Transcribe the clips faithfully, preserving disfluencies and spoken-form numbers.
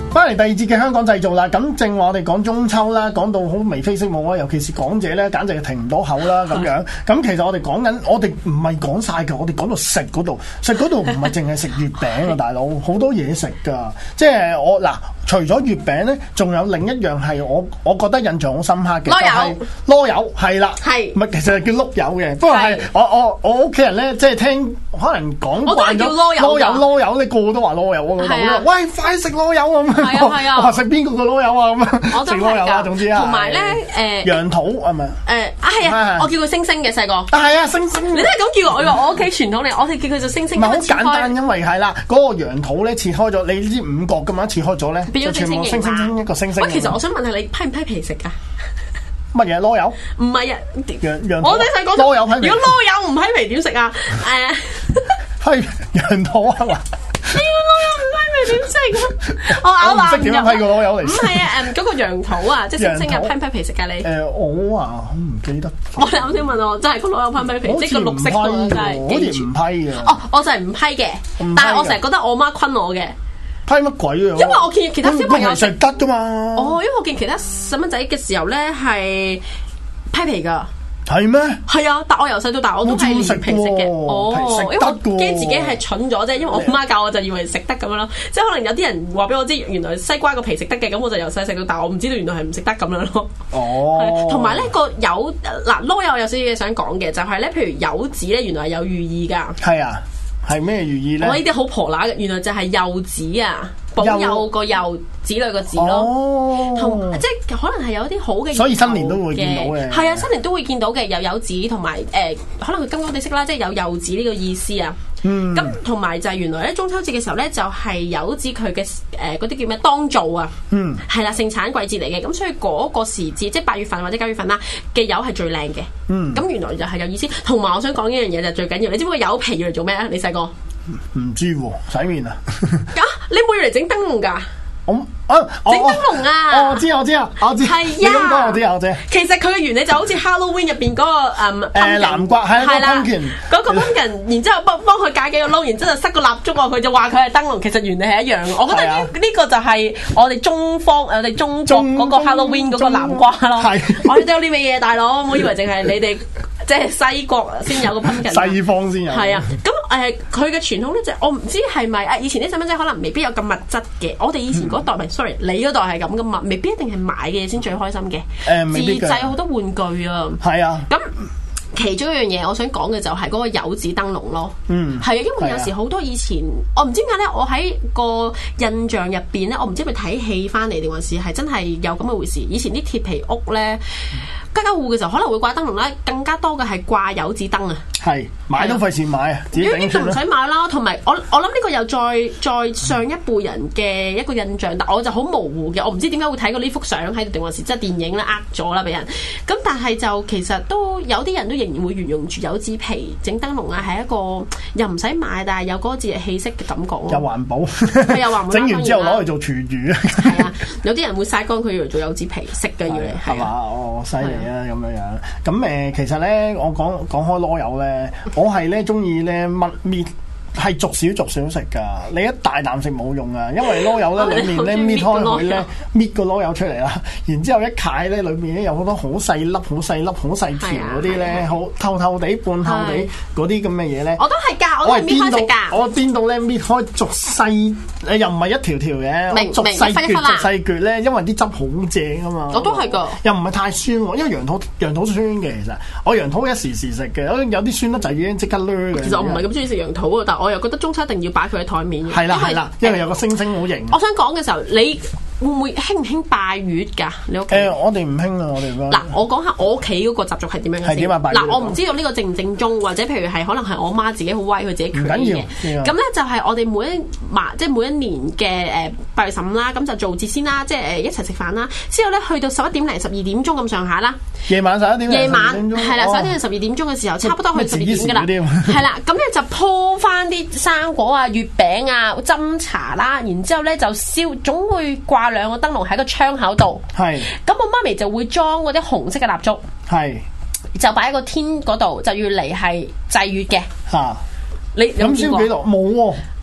翻嚟第二節嘅香港製造啦，咁正話我哋講中秋啦，講到好眉飛色舞啊，尤其是港姐咧，簡直係停唔到口啦咁樣。咁其實我哋講緊，我哋唔係講晒㗎，我哋講到食嗰度，食嗰度唔係淨係食月餅啊，大佬好多嘢食㗎。即係我嗱，除咗月餅咧，仲有另一樣係我我覺得印象好深刻嘅，就係籮柚，係啦，係唔係其實係叫碌柚嘅？不過係我我我屋企人咧，即係聽可能講慣咗籮柚籮柚，你個個都話籮柚，我老豆咧，喂，快食籮柚咁。係啊係啊，我話食邊個個籮柚啊咁啊，食籮柚啊，總之啊， 同埋咧誒羊肚係咪？誒啊係啊，我叫佢星星嘅細個。 啊係啊，星星。 你都係咁叫我，我我屋企傳統嚟，我哋叫佢做星星。 唔係好簡單，因為係啦，嗰個羊肚咧切開咗，你知五角咁樣切開咗咧， 變咗星星星星一個星星。 喂，其實我想問下你批唔批皮食㗎？ 乜嘢籮柚？唔係啊， 羊羊。 我哋細個籮柚批皮。 如果籮柚唔批皮點食啊？ 誒，批羊肚啊嘛。 呢個籮柚唔批皮點食啊？我咬爛。 唔識點樣批個籮柚嚟？ 唔係啊，誒嗰個羊肚啊，即係星星啊，批唔批皮食㗎你？ 誒我啊，我唔記得。 我哋啱先問我，真係個籮柚批唔批皮？即係個綠色嗰個真係。 好似唔批嘅。 哦，我就係唔批嘅，但係我成日覺得我媽昆我嘅。 批乜鬼啊？ 因為我見其他小朋友食得噶嘛。 哦，因為我見其他細蚊仔嘅時候咧係批皮噶。 係咩？ 係啊，但我由細到大我都係連皮食嘅。哦，因為我驚自己係蠢咗啫，因為我媽教我就以為食得咁樣咯。即係可能有啲人話俾我知，原來西瓜個皮食得嘅，咁我就由細食到大，我唔知道原來係唔食得咁樣咯。 哦。同埋咧個柚嗱籮柚有少少嘢想講嘅，就係咧，譬如柚子咧，原來係有寓意㗎。係啊。係咩寓意咧？ 我呢啲好婆乸嘅，原來就係柚子啊，保佑個柚子女個字咯。哦，同即係可能係有啲好嘅， 所以新年都會見到嘅。 係啊，新年都會見到嘅，有柚子同埋誒，可能佢金光地色啦，即係有柚子呢個意思啊。嗯，咁同埋就係原來咧中秋節嘅時候咧，就係柚子佢嘅誒嗰啲叫咩當造啊。嗯，係啦，盛產季節嚟嘅，咁所以嗰個時節即係八月份或者九月份啦嘅柚係最靚嘅。嗯，咁原來就係有意思。同埋我想講一樣嘢就最緊要，你知唔知個柚皮要嚟做咩啊？你細個唔知喎，洗面啊？ 啊，你冇要嚟整燈籠㗎？ 我啊， 整燈籠啊！ 我知我知啊，我知。 係你咁講我知我知。 其實佢嘅原理就好似 Halloween 入邊嗰個誒誒南瓜係啦，個 pumpkin 嗰個 pumpkin，然之後幫幫佢解幾個窿，然之後塞個蠟燭落去，就話佢係燈籠。其實原理係一樣嘅。我覺得呢呢個就係我哋中方我哋中國嗰個 Halloween 嗰個南瓜咯。係，我哋都有啲咩嘢，大佬，唔好以為淨係你哋。即係西國先有個 pumpkin， 西方先有。 係啊，咁誒佢嘅傳統咧就我唔知係咪啊？以前啲細蚊仔可能未必有咁物質嘅，我哋以前嗰代唔係、嗯、，sorry， 你嗰代係咁噶嘛，未必一定係買嘅嘢先最開心嘅。誒、呃，自製好多玩具啊。係啊。咁其中一樣嘢我想講嘅就係嗰個柚子燈籠咯。嗯。係啊，因為有時好多以前我唔知點解咧，我喺個印象入邊咧，我唔知係咪睇戲翻嚟定還是係真係有咁嘅回事。以前啲鐵皮屋咧。嗯家家戶戶嘅時候可能會掛燈籠啦，更加多嘅係掛柚子燈啊！係買都費事買啊，自己整算啦。呢個唔使買啦，同埋我我諗呢個又再再上一輩人嘅一個印象，但我就好模糊嘅，我唔知點解會睇過呢幅相喺度，定還是即係電影咧呃咗啦俾人。咁但係就其實都有啲人都仍然會沿用住柚子皮整燈籠啊，係一個又唔使買，但係有嗰個節日氣息嘅感覺咯。又環保，係又環保。整完之後攞去做廚餘啊！係啊，有啲人會曬乾佢要嚟做柚子皮食嘅要嚟，係嘛？哦，犀利啊！咁樣樣，咁誒，其實咧，我講講開籮柚咧，我係咧中意咧乜搣。係逐少逐少食㗎，你一大啖食冇用啊，因為籮柚咧裡面咧搣開佢咧，搣個籮柚出嚟啦，然之後一解咧，裏面咧有好多好細粒、好細粒、好細條嗰啲咧，好透透地、半透地嗰啲咁嘅嘢咧。我都係㗎，我係搣開食㗎。我邊度咧搣開逐細，誒又唔係一條條嘅，逐細橛、逐細橛咧，因為啲汁好正啊嘛。我都係㗎，又唔係太酸喎，因為羊肚羊肚酸嘅其實，我羊肚一時時食嘅，有啲酸得滯已經即刻掠嘅。其實我唔係咁中意食羊肚啊，但我又覺得中秋一定要擺佢喺台面嘅。係啦係啦，因為有個星星好型。我想講嘅時候，你會唔會興唔興拜月㗎？你屋企？誒，我哋唔興啊，我哋嗱，我講下我屋企嗰個習俗係點樣嘅先。係點啊？拜月嗱，我唔知道呢個正唔正宗，或者譬如係可能係我媽自己好威，佢自己決定嘅。咁咧就係我哋每一晚，即係每一年嘅誒八月十五啦，咁就做節先啦，即係誒一齊食飯啦。之後咧去到十一點零、十二點鐘咁上下啦。夜晚十一點。夜晚係啦，十一點零、十二點鐘嘅時候，差不多去十二點㗎啦。係啦，咁咧就鋪翻啲生果啊、月餅啊、斟茶啦，然之後咧就燒，總會掛兩個燈籠喺個窗口度。係。咁我媽咪就會裝嗰啲紅色嘅蠟燭。係。就擺喺個天嗰度，就要嚟係祭月嘅。嚇！你咁燒幾多？冇喎。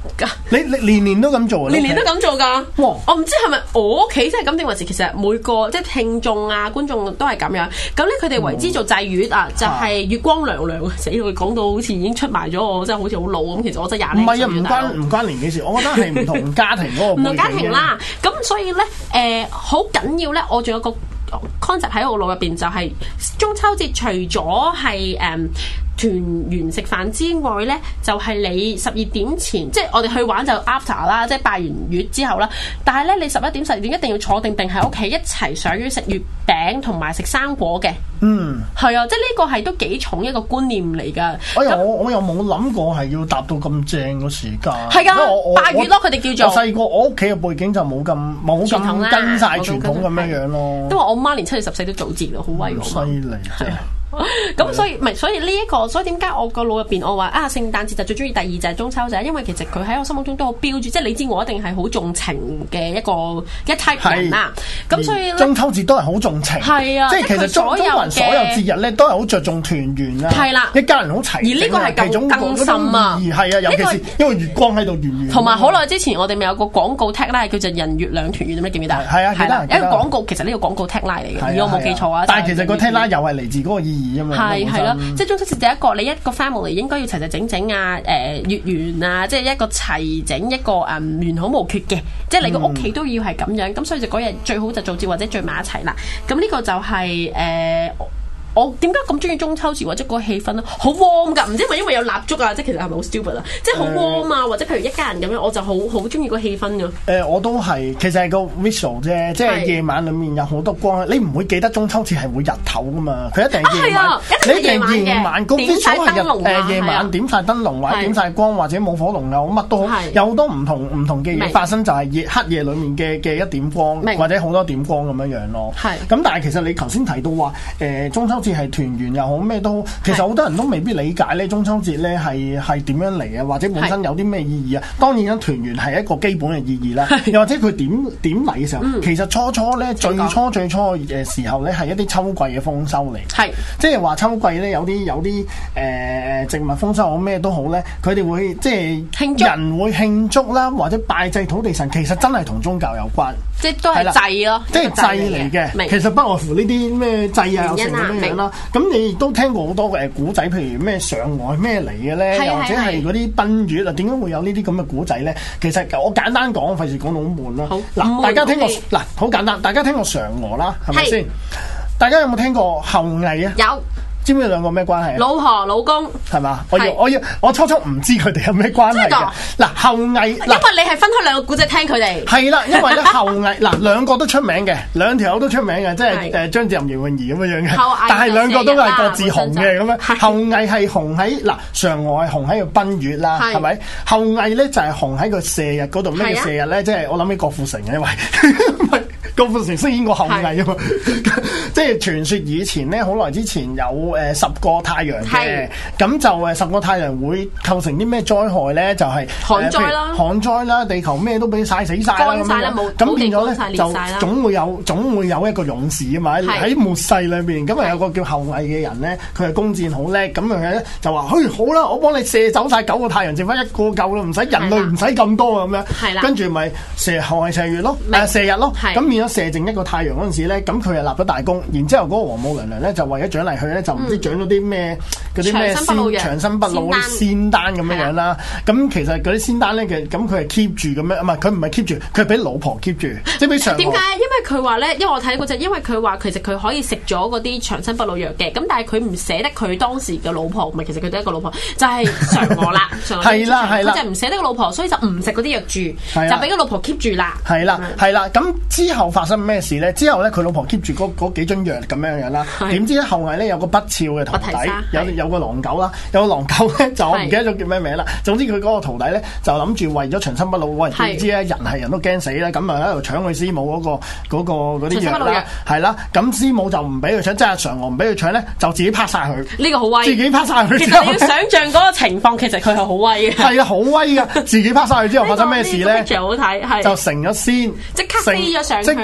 你你年年都咁做啊？ 年年都咁做㗎。 哇！ 我唔知係咪我屋企真係咁定還是其實每個即係聽眾啊觀眾都係咁樣。咁咧佢哋為之做祭月啊，就係月光娘娘。死佢講到好似已經出賣咗我，真係好似好老咁。其實我真係廿零歲。唔係啊， 唔關唔關年紀事，我覺得係唔同家庭嗰個唔同家庭啦。咁所以咧誒好緊要咧，我仲有個 concept 喺我腦入邊，就係中秋節除咗係誒團圓食飯之外咧，就係、是、你十二點前，即係我哋去玩就 after 啦，即係拜完月之後啦。但係咧，你十一點十二點一定要坐定定喺屋企一齊賞月食月餅同埋食生果嘅。嗯，係啊，即係呢個係都幾重一個觀念嚟㗎。 哎呀，我我又冇諗過係要達到咁正個時間。 係㗎，拜月咯，佢哋叫做。 我細個我屋企嘅背景就冇咁冇咁跟晒傳統咁樣樣咯。 因為我媽連七月十四都早節咯，好威喎。 犀利真係。 咁所以唔係，所以呢、這、一個，所以點解我個腦入邊我話啊，聖誕節就最中意，第二就係中秋就係因為其實佢喺我心目中都好標注，即係你知我一定係好重情嘅一個一 type 人啦。咁所以中秋節都係好重情，係啊，即係其實中中國人所有節日咧都係好着重團圓啊，係啦，一家人好齊。而呢個係更更深啊，係啊，尤其是因為月光喺度圓圓。同埋好耐之前我哋咪有個廣告 tagline 叫做人月兩團圓，你記唔記得？係啊，記得。一個廣告其實呢個廣告 tagline 嚟嘅，如果我冇記錯啊。但係其實個 tagline 又係嚟自嗰個意義啊嘛。係係咯，即係中秋節第一個，你一個 family 應該要齊齊整整啊，誒、呃、月圓啊，即係一個齊整一個誒、嗯、完好無缺嘅，即係你個屋企都要係咁樣，咁、嗯、所以就嗰日最好就做節或者聚埋一齊啦。咁呢個就係、是、誒。呃我點解咁中意中秋節或者個氣氛咧？好 warm 㗎，唔知係咪因為有蠟燭啊？即係其實係咪好 stupid 啊？即係好 warm 啊，或者譬如一家人咁樣，我就好好中意個氣氛㗎。誒、呃，我都係，其實係個 visual 啫，即係夜晚裡面有好多光，你唔會記得中秋節係會日頭㗎嘛？佢一定係夜晚，啊、一定夜晚嘅。夜晚個 visual 係日誒夜晚點晒燈籠或者點晒光或者冇火龍啊，乜都好，有好多唔同唔同嘅嘢發生，就係夜黑夜裡面嘅嘅一點光或者好多點光咁樣樣咯。係。咁但係其實你頭先提到話誒中秋係團圓又好咩都好，其實好多人都未必理解咧中秋節咧係係點樣嚟啊，或者本身有啲咩意義啊？當然啦，團圓係一個基本嘅意義啦。又或者佢點點嚟嘅時候，嗯、其實初初咧最初最初嘅時候咧係一啲秋季嘅豐收嚟，係即係話秋季咧有啲有啲誒、呃、植物豐收好咩都好咧，佢哋會即係人會慶祝啦，或者拜祭土地神，其實真係同宗教有關，即係都係祭咯，即係祭嚟嘅。其實不外乎呢啲咩祭啊，有成咁樣樣啦。咁你亦都聽過好多誒古仔，譬如咩上外咩嚟嘅咧，又或者係嗰啲奔月啊，點解會有呢啲咁嘅古仔咧？其實我簡單講，費事講到好悶啦。嗱，大家聽過嗱，好簡單，大家聽過嫦娥啦，係咪先？大家有冇聽過后羿啊？有。知唔知兩個咩關係？老婆老公係嘛？我要我要我初初唔知佢哋有咩關係嘅。嗱，后羿嗱，因為你係分開兩個古仔聽佢哋。係啦，因為咧后羿嗱兩個都出名嘅，兩條友都出名嘅，即係誒張智霖、姚詠儀咁樣樣嘅。但係兩個都係各自紅嘅咁樣。后羿係紅喺嗱，嫦娥係紅喺度奔月啦，係咪？后羿咧就係紅喺個射日嗰度。咩叫射日咧？即係我諗起郭富城嘅，因為郭富城飾演過后羿啊嘛。即係傳說以前咧，好耐之前有。誒十個太陽嘅，咁就誒十個太陽會構成啲咩災害咧？就係旱災啦，旱災啦，地球咩都俾曬死曬啦咁樣。咁變咗咧就總會有總會有一個勇士啊嘛！喺末世裏邊，咁啊有個叫后羿嘅人咧，佢係弓箭好叻，咁樣咧就話：嘿好啦，我幫你射走曬九個太陽，剩翻一個夠啦，唔使人類唔使咁多啊咁樣。跟住咪射後係射月咯，誒射日咯。咁變咗射剩一個太陽嗰陣時咧，咁佢就立咗大功。然之後嗰個王母娘娘咧就為咗獎勵佢咧就。唔知獎咗啲咩嗰啲咩仙長生不老嗰啲仙丹咁樣樣啦，咁其實嗰啲仙丹咧嘅，咁佢係 keep 住咁樣，唔係佢唔係 keep 住，佢係俾老婆 keep 住，即係俾嫦娥。點解？因為佢話咧，因為我睇嗰隻，因為佢話其實佢可以食咗嗰啲長生不老藥嘅，咁但係佢唔捨得佢當時嘅老婆，唔係其實佢得一個老婆，就係嫦娥啦。係啦係啦，佢就唔捨得個老婆，所以就唔食嗰啲藥住，就俾個老婆 keep 住啦。係啦係啦，咁之後發生咩事咧？之後咧佢老婆 keep 住嗰嗰幾樽藥咁樣樣啦，點知咧後羿咧有個不肖嘅徒弟，有有個狼狗啦，有個狼狗咧就我唔記得咗叫咩名啦。總之佢嗰個徒弟咧就諗住為咗長生不老，喂點知咧人係人都驚死啦，咁啊喺度搶佢師母嗰個嗰個嗰啲藥啦，係啦，咁師母就唔俾佢搶，即係嫦娥唔俾佢搶咧，就自己拍晒佢。呢個好威，自己拍晒佢。其實你要想象嗰個情況，其實佢係好威嘅。係啊，好威噶，自己拍晒佢之後發生咩事咧？好睇，就成咗仙，即刻飛咗上，即刻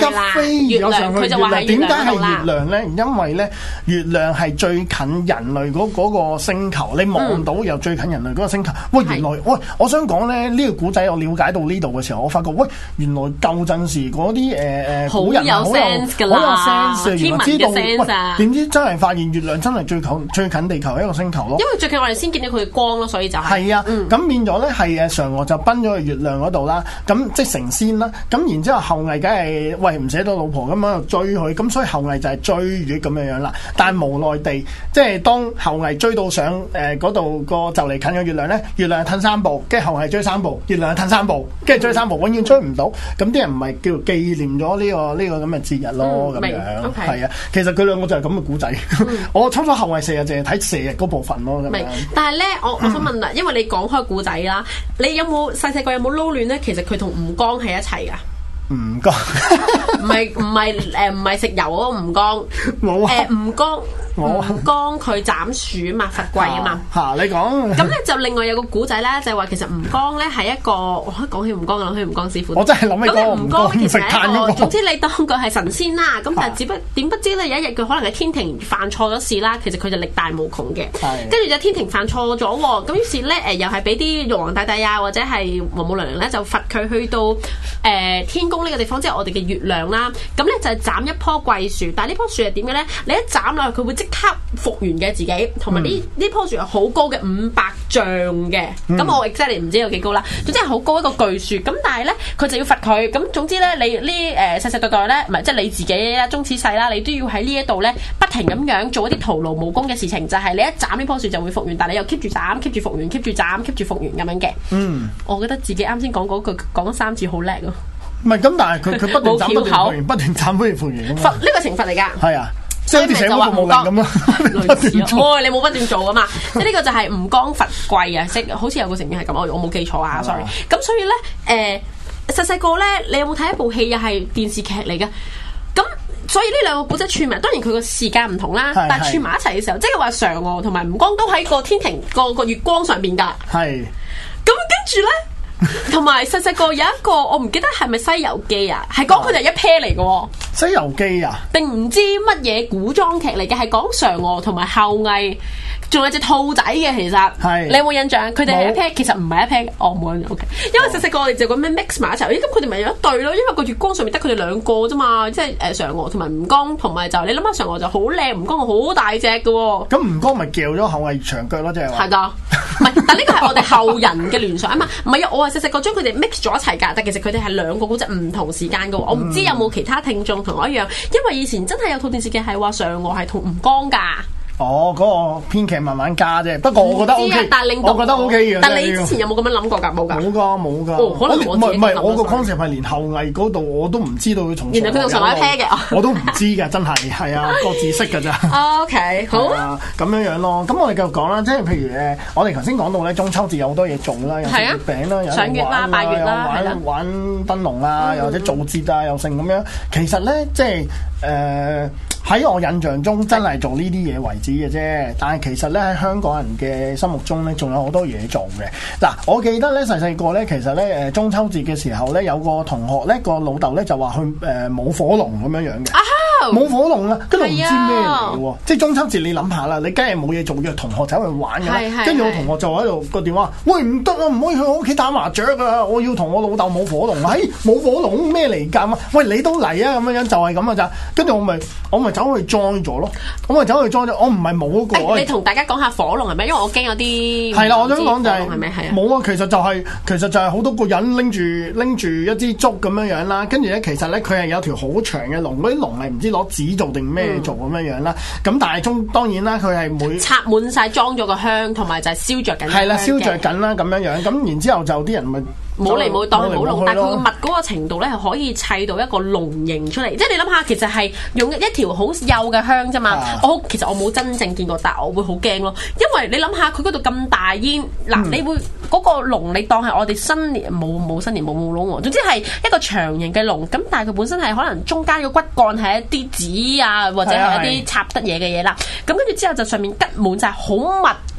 急飛咗上去月亮。點解係月亮咧？因為咧，月亮係最近人類嗰嗰個星球，你望到又最近人類嗰個星球。喂，原來喂，我想講咧，呢個古仔我了解到呢度嘅時候，我發覺喂，原來舊陣時嗰啲誒誒古人好有 sense 㗎啦，原來知道喂，點知真係發現月亮真係最近最近地球一個星球咯。 因為最近我哋先見到佢嘅光咯，所以就係係啊，咁變咗咧係誒嫦娥就奔咗去月亮嗰度啦，咁即係成仙啦。咁然之後後羿梗係喂唔捨得老婆咁樣追佢，咁所以後羿就係追月咁樣樣啦。但係無奈地，即係當後羿追到上誒嗰度個就嚟近嘅月亮咧，月亮褪三步，跟住後羿追三步，月亮褪三步，跟住追三步，永遠追唔到。咁啲人唔係叫紀念咗呢個呢個咁嘅節日咯，咁樣係啊。其實佢兩個就係咁嘅古仔。我初初後羿射日淨係睇射日嗰部分咯，咁樣。 但係咧，我我想問啦，因為你講開古仔啦，你有冇細細個有冇撈亂咧？其實佢同吳剛係一齊噶。 吳剛唔係唔係誒唔係食油嗰個吳剛，冇啊。誒吳剛吳剛佢斬樹啊嘛，伐桂啊嘛。嚇你講。咁咧就另外有個古仔咧，就係話其實吳剛咧係一個，我一講起吳剛就諗起吳剛師傅。 我真係諗起嗰個吳剛其實係一個， 總之你當佢係神仙啦。咁但係只不點不知咧有一日佢可能喺天庭犯錯咗事啦，其實佢就力大無窮嘅。跟住就天庭犯錯咗喎，咁於是咧誒又係俾啲玉皇大帝啊或者係王母娘娘咧就罰佢去到誒天宮呢個地方，即係我哋嘅月亮啦。咁咧就係斬一棵桂樹，但係呢棵樹係點嘅咧？你一斬落去，佢會即刻復原嘅自己，同埋呢呢棵樹係好高嘅五百丈嘅。咁、嗯、我 exactly 唔知有幾高啦，總之係好高一個巨樹。咁但係咧，佢就要罰佢。咁總之咧，你呢誒世世代代咧，唔係即係你自己啦，終此世啦，你都要喺呢一度咧，不停咁樣做一啲徒勞無功嘅事情。就係、是、你一斬呢棵樹就會復原，但係你又 keep 住斬 keep 住復原 keep 住斬 keep 住復原咁樣嘅。嗯，我覺得自己啱先講嗰句講咗三次好叻咯。 唔係咁，但係佢佢不斷斬不斷復原，不斷斬不斷復原。 罰呢個懲罰嚟㗎。係啊， 即係好似社會服務令咁咯。 類似啊，哦，你冇不斷做㗎嘛？即係呢個就係吳剛伐桂啊，即好似有個成語係咁，我我冇記錯啊 ，sorry。咁所以咧，誒細細個咧，你有冇睇一部戲又係電視劇嚟嘅？咁所以呢兩個古仔串埋，當然佢個時間唔同啦，但係串埋一齊嘅時候，即係話嫦娥同埋吳剛都喺個天庭個個月光上邊㗎。係。咁跟住咧。同埋細細個有一個我唔記得係咪《西遊記》啊，係講佢哋一 pair 嚟嘅喎。《 西遊記》啊？定唔知乜嘢古裝劇嚟嘅？係講嫦娥同埋后羿，仲有隻兔仔嘅。其實係你有冇印象？佢哋係一 pair，其實唔係一 pair。哦，冇印象。O K，因為細細個我哋就咁樣 mix 埋一齊。咦，咁佢哋咪有一對咯？因為個月光上面得佢哋兩個啫嘛，即係誒嫦娥同埋吳剛，同埋就你諗下嫦娥就好靚，吳剛好大隻嘅喎。咁吳剛咪叫咗后羿長腳咯，即係話。係㗎，唔係，但呢個係我哋後人嘅聯想啊嘛。唔係啊，我係細細個將佢哋 mix 咗一齊㗎，但其實佢哋係兩個古仔唔同時間嘅喎。我唔知有冇其他聽眾同我一樣，因為以前真係有套電視劇係話嫦娥係同吳剛㗎。哦，嗰、那個編劇慢慢加啫，不過我覺得 O K，我覺得 O K 嘅。但你之前有冇咁樣諗過㗎？冇㗎。冇㗎，冇㗎。哦，可能我唔係唔係，我個 concept 係連後羿嗰度我都唔知道佢同。原來佢同嫦娥一 pair 嘅，我都唔知㗎，真係係啊，各自識㗎咋。O K， 好啊，咁樣樣咯。咁我哋繼續講啦，即係譬如誒，我哋頭先講到咧，中秋節有好多嘢做啦，有食月餅啦，有賞月啦、拜月啦，玩玩燈籠啊，又或者做節啊，又剩咁樣。其實咧，即係誒。喺我印象中真係做呢啲嘢為止嘅啫，但係其實咧喺香港人嘅心目中咧，仲有好多嘢做嘅。嗱，我記得咧細細個咧，其實咧誒中秋節嘅時候咧，有個同學咧個老豆咧就話去誒舞火龍咁樣樣嘅。舞火龍啊，跟住唔知咩嚟喎，即係中秋節你諗下啦，你梗係冇嘢做，約同學走去玩嘅。跟住我同學就喺度個電話，喂，唔得啊，唔可以去我屋企打麻雀啊，我要同我老豆舞火龍。哎，舞火龍咩嚟㗎？喂，你都嚟啊，咁樣樣就係咁嘅咋。跟住我咪我咪走去 join 咗咯，我咪走去 join 咗，我唔係舞嗰個。你同大家講下火龍係咩？因為我驚有啲係啦，我想講就係係咪係啊？冇啊，其實就係其實就係好多個人拎住拎住一支竹咁樣樣啦，跟住咧其實咧佢係有條好長嘅龍，嗰啲龍係唔知攞紙做定咩做咁樣樣啦。咁、嗯、但係中當然啦，佢係每插滿晒裝咗個香，同埋就係燒着緊。係啦，燒着緊啦咁樣樣。咁然之後就啲人咪。冇嚟冇當冇龍，但係佢個密嗰個程度咧係可以砌到一個龍形出嚟，即係你諗下，其實係用一條好幼嘅香啫嘛。啊、我其實我冇真正見過，但係我會好驚咯，因為你諗下佢嗰度咁大煙，嗱、嗯、你會嗰、嗰個龍你當係我哋新年冇冇新年冇冇龍喎，總之係一個長形嘅龍，咁但係佢本身係可能中間個骨幹係一啲紙啊，或者係一啲插得嘢嘅嘢啦，咁跟住之後就上面吉滿晒好密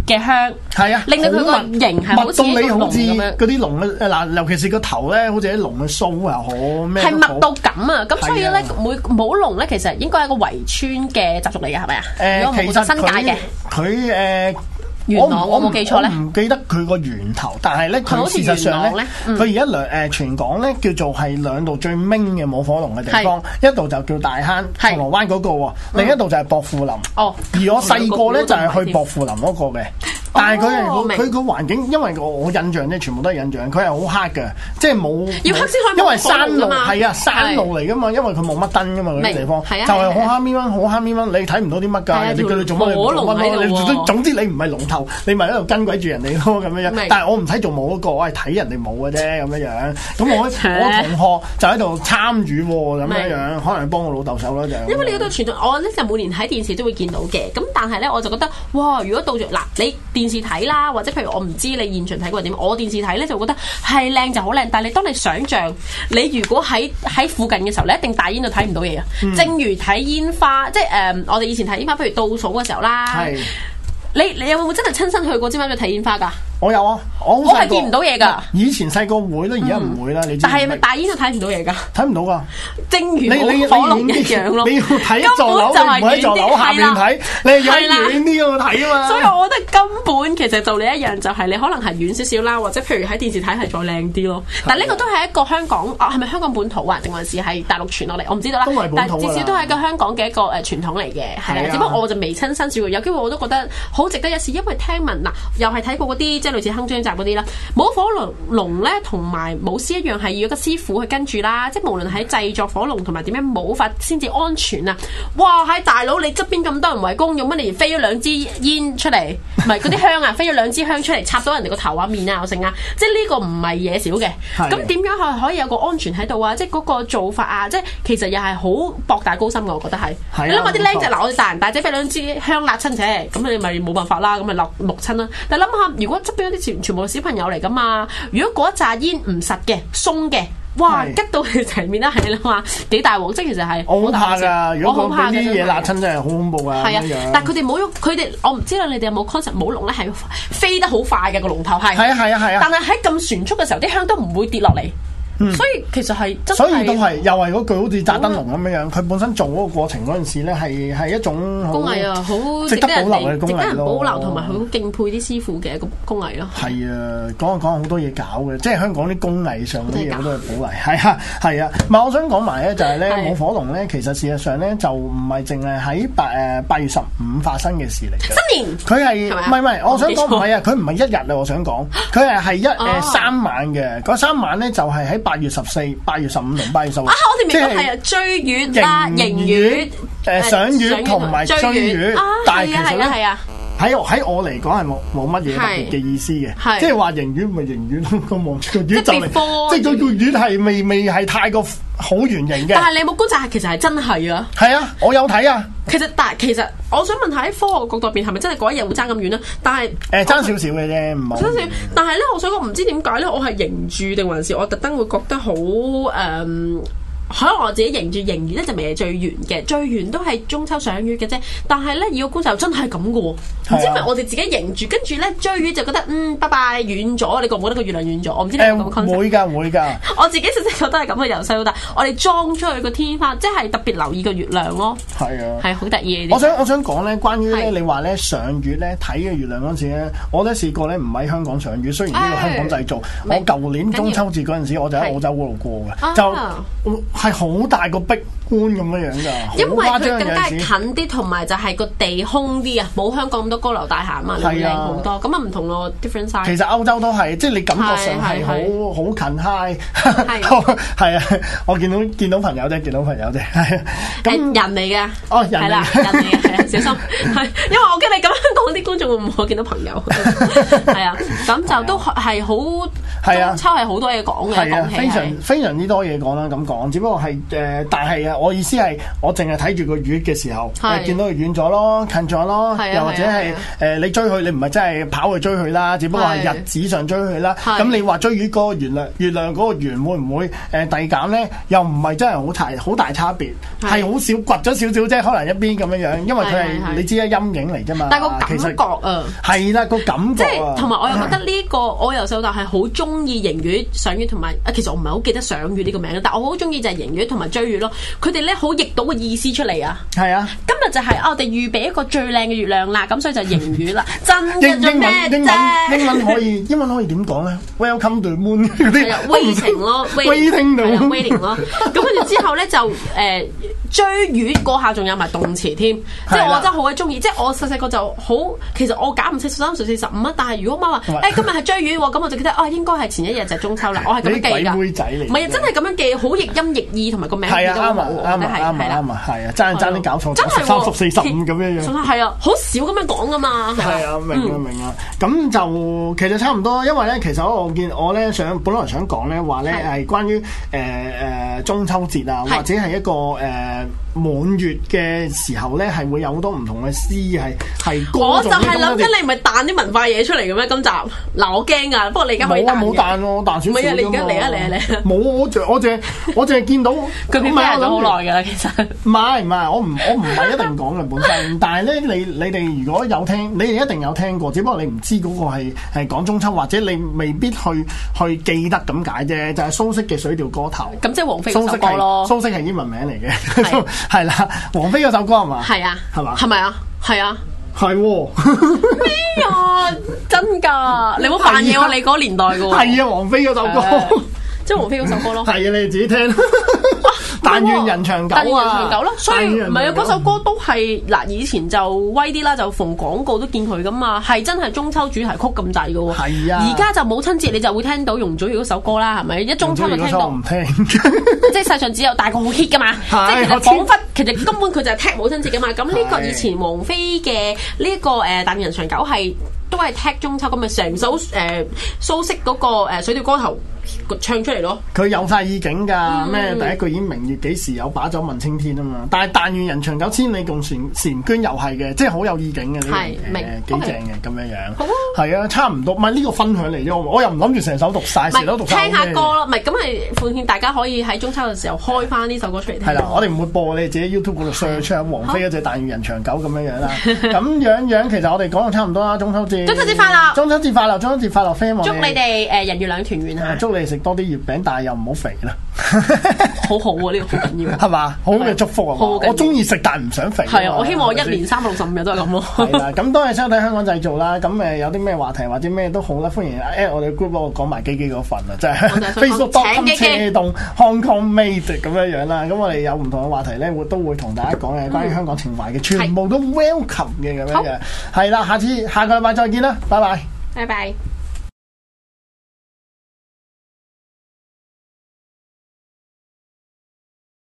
嘅香， 係啊， 令到佢個形係好似一個龍咁樣。 嗰啲龍嘅嗱，尤其是個頭咧，好似啲龍嘅鬚又好咩， 係密到咁啊！咁所以咧，每舞龍咧其實應該係一個圍村嘅習俗嚟嘅，係咪啊？ 誒，其實新界嘅佢誒。 元朗我冇記錯咧， 我唔記得佢個源頭，但係咧佢事實上咧，佢而家兩誒全港咧叫做係兩度最明嘅舞火龍嘅地方，一度就叫大坑銅鑼灣嗰個喎，另一度就係薄扶林。哦，而我細個咧就係去薄扶林嗰個嘅。但係佢係佢個環境，因為我我印象咧，全部都係印象，佢係好黑嘅，即係冇要黑先可以， 因為山路係啊，山路嚟噶嘛，因為佢冇乜燈噶嘛，嗰啲地方就係好黑咪蚊，好黑咪蚊，你睇唔到啲乜㗎，人哋叫你做乜你做乜咯，你總之你唔係龍頭，你咪喺度跟鬼住人哋咯咁樣樣。但係我唔使做舞嗰個，我係睇人哋舞嘅啫咁樣樣。咁我我同學就喺度參與喎咁樣樣，可能幫我老豆手咯就。 因為你嗰度傳統，我咧就每年喺電視都會見到嘅。咁但係咧，我就覺得哇，如果到咗嗱你。電視睇啦，或者譬如我唔知你現場睇過點，我電視睇咧就覺得係靚就好靚，但係你當你想像你如果喺喺附近嘅時候，你一定大煙就睇唔到嘢啊！嗯、正如睇煙花，即係誒、呃，我哋以前睇煙花，譬如倒數嘅時候啦，是你你有冇真係親身去過尖沙咀睇煙花㗎？我有啊，我我係見唔到嘢㗎。以前細個會啦，而家唔會啦。你知但係咪大煙都睇唔到嘢㗎？睇唔到㗎。正如冇火龍一樣咯。你要睇座樓，你唔喺座樓下面睇，你係要遠啲嗰度睇啊嘛。所以我覺得根本其實就你一樣，就係你可能係遠少少啦，或者譬如喺電視睇係再靚啲咯。但係呢個都係一個香港啊，係咪香港本土啊，定還是係大陸傳落嚟？我唔知道啦。都係本土㗎。但至少都係一個香港嘅一個誒傳統嚟嘅，係啊。只不過我就未親身試過，有機會我都覺得好值得一試，因為聽聞嗱，又係睇過嗰啲即係類似鏗鏘集嗰啲啦，舞火龍龍咧同埋舞獅一樣係要一個師傅去跟住啦，即係無論喺製作火龍同埋點樣舞法先至安全啊！哇，喺大佬你側邊咁多人圍攻，用乜嚟飛咗兩支煙出嚟？唔係嗰啲香啊，飛咗兩支香出嚟插到人哋個頭啊面啊，有剩啊！即係呢個唔係嘢少嘅。咁點樣係可以有個安全喺度啊？即係嗰個做法啊！即係其實又係好博大高深嘅，我覺得係。係啊。你諗下啲僆仔嗱，我哋大人大仔飛兩支香辣親啫，咁你咪冇辦法啦，咁咪落木親啦。但係諗下，如果側邊嗰啲全全部小朋友嚟噶嘛，如果嗰一紮煙唔實嘅、鬆嘅，哇，吉到佢齊面啦，係你諗下幾大鑊，即係其實係我好怕㗎。如果講啲嘢辣親真係好恐怖啊！係啊，但係佢哋冇喐，佢哋我唔知道你哋有冇 concept 舞龍咧係飛得好快嘅個龍頭係。係啊係啊係啊！但係喺咁旋速嘅時候，啲香都唔會跌落嚟。嗯、所以其實係，所以都係又係嗰句好似炸燈籠咁樣樣，佢、嗯、本身做嗰個過程嗰陣時咧，係係一種工藝啊，好值得保留嘅工藝咯，值得人保留同埋好敬佩啲師傅嘅一個工藝咯。係啊，講講好多嘢搞嘅，即係香港啲工藝上嗰啲嘢好多係保留，係啊係啊。唔係我想講埋咧，就係咧舞火龍咧，其實事實上咧就唔係淨係喺八誒八月十五發生嘅事嚟嘅。新年佢係唔係唔係？我想講唔係啊，佢唔係一日啊，我想講佢係係一誒、哦呃、三晚嘅，嗰三晚咧就係喺八月十四、八月十五同八月十六。啊，我哋明白係啊，追月啦、迎月、誒賞月同埋追月。但係其實咧係啊，喺喺我嚟講係冇冇乜嘢特別嘅意思嘅，即係話迎月咪迎月咯，個望住個月就嚟，即係個月係未未係太過好圓形嘅。但係你有冇觀察？其實係真係啊。係啊，我有睇啊。其實但係其實我想問下喺科學角度入邊係咪真係嗰一日會爭咁遠咧？但係誒爭少少嘅啫，唔係。少少，但係咧，我想講唔知點解咧，我係迎住定還是我特登會覺得好誒。嗯可能我自己迎住迎月咧就未係最圓嘅，最圓都係中秋賞月嘅啫。但係咧，要觀察真係咁嘅喎，唔知係咪我哋自己迎住，跟住咧追月就覺得嗯拜拜遠咗，你覺唔覺得個月亮遠咗？我唔知你有冇咁嘅 concept。會㗎會㗎。我自己實質覺得係咁嘅，由細到大，我哋裝出去個天花，即係特別留意個月亮咯。係啊，係好得意。我想我想講咧，關於咧你話咧賞月咧睇嘅月亮嗰陣時咧，我都試過咧唔喺香港賞月，雖然呢個香港製造。我舊年中秋節嗰陣時，我就喺澳洲嗰度過嘅，就。係好大個壁觀咁樣樣㗎，因為佢更加係近啲，同埋就係個地空啲啊，冇香港咁多高樓大廈啊嘛，靚好多。咁啊唔同咯 ，different size。其實歐洲都係，即係你感覺上係好好近 high，係啊，我見到見到朋友啫，見到朋友啫，係啊。咁人嚟嘅，哦人嚟嘅，人嚟嘅，係啊，小心，係因為我驚你咁樣講啲觀眾會唔會見到朋友？係啊，咁就都係好係啊， 中秋係好多嘢講嘅， 係啊， 講起非常非常之多嘢講啦。咁講，只不過係誒、呃，但係啊，我意思係我淨係睇住個月嘅時候，誒見到佢遠咗咯，近咗咯，又或者係誒你追佢，你唔係真係跑去追佢啦，只不過係日子上追佢啦。咁你話追月嗰個月亮月亮嗰個圓會唔會誒遞減咧？又唔係真係好大好大差別，係好少掘咗少少啫，可能一邊咁樣樣，因為佢係你知啦，陰影嚟啫嘛。 但係個感覺啊， 係啦個感覺啊， 同埋我又覺得呢個我由細到大係好中意迎月、賞月同埋啊，其實我唔係好記得賞月呢個名，但我好中意就係迎月同埋追月咯。佢哋咧好譯到個意思出嚟啊！係啊，今日就係、是啊、我哋預備一個最靚嘅月亮啦，咁所以就迎月啦。真嘅做咩啫？英文英文可以英文可以點講咧 ？Welcome to the moon 嗰啲 waiting 咯 ，waiting 到 waiting 咯。咁跟住之後咧就誒、呃、追月嗰下仲有埋動詞添，即係我真係好鬼中意。即係我細細個就好，其實我揀唔識十三、十四、十五啊。但係如果媽話誒今日係追月喎，咁我就記得啊，應該係前一日就係中秋啦。我係咁樣記㗎。 鬼妹仔嚟， 唔係啊，真係咁樣記，好譯音譯意同埋個名係啊，啱啊，啱啊， 啱啊，啱啊，係啊，爭爭啲搞錯，真係十三、十四、十五咁樣樣。 係啊，好少咁樣講噶嘛。 係啊，明啊，明啊。咁就其實差唔多，因為咧，其實我見我咧想，本來想講咧話咧係關於誒誒中秋節啊，或者係一個誒滿月嘅時候咧，係會有好多唔同嘅詩係係歌。我就係諗緊你唔係彈啲文化嘢出嚟嘅咩？今集嗱，我驚啊！不過你而家可以彈嘅。冇冇彈喎，彈少少。唔係啊，你而家嚟啊嚟啊嚟啊！冇，我淨我淨我淨係見到佢編排咗好耐㗎啦，其實。 唔係唔係，我唔我唔係一定講嘅本身，但係咧你你哋如果有聽，你哋一定有聽過，只不過你唔知嗰個係係講中秋，或者你未必去去記得咁解啫。就係蘇軾嘅《水調歌頭》。咁即係王菲嗰首歌咯。蘇軾係英文名嚟嘅，係啦，王菲嗰首歌係嘛？係啊，係嘛？係咪啊？係啊。係喎咩啊？真㗎？你冇扮嘢喎！你嗰年代嘅喎。係啊，王菲嗰首歌，即係王菲嗰首歌咯。係啊，你哋自己聽。但願人長久啊！但願人長久咯，所以唔係啊！嗰首歌都係嗱，以前就威啲啦，就逢廣告都見佢噶嘛，係真係中秋主題曲咁滯嘅喎。係啊！而家就母親節你就會聽到容祖兒嗰首歌啦，係咪？一中秋就聽到。唔聽，即係世上只有大個好 hit 噶嘛，即係其實彷彿其實根本佢就係踢母親節噶嘛。咁呢個以前王菲嘅呢一個誒但願人長久係都係踢中秋咁咪成首誒蘇軾嗰個誒水調歌頭唱出嚟咯，佢有晒意境㗎，咩、嗯、第一句已經明月幾時有，把酒問青天啊嘛。但係但願人長久，千里共嬋嬋娟又係嘅，即係好有意境嘅呢樣嘢，幾正嘅咁樣樣。好啊，係啊，差唔多。唔係呢個分享嚟啫，我又唔諗住成首讀晒，成首讀晒。聽下歌咯，唔係咁係奉勸大家可以喺中秋嘅時候開翻呢首歌出嚟聽。係啦，我哋唔會播，你自己 YouTube 嗰度 search 唱王菲嗰隻但願人長久咁樣樣啦。咁樣樣其實我哋講到差唔多啦，中秋節。中秋節快樂！中秋節快樂！中秋節快樂 friend 祝你哋誒人月兩團圓啊！祝你食多啲月餅，但係又唔好肥啦。好好啊，呢、這個好緊要，係嘛？好嘅祝福啊！我中意食，但係唔想肥。係啊，我希望我一年三百六十五日都係咁咯。係啦，咁多謝收睇香港製造啦。咁誒有啲咩話題或者咩都好啦，歡迎 at 我哋 group 嗰個講埋基基嗰份啊，即係 Facebook dot com 車動 Hong Kong Made 咁樣樣啦。咁我哋有唔同嘅話題咧，會都會同大家講嘅，關於香港情懷嘅，全部都 welcome 嘅咁樣嘅。係啦，下次下個禮拜再見啦，拜拜，拜拜。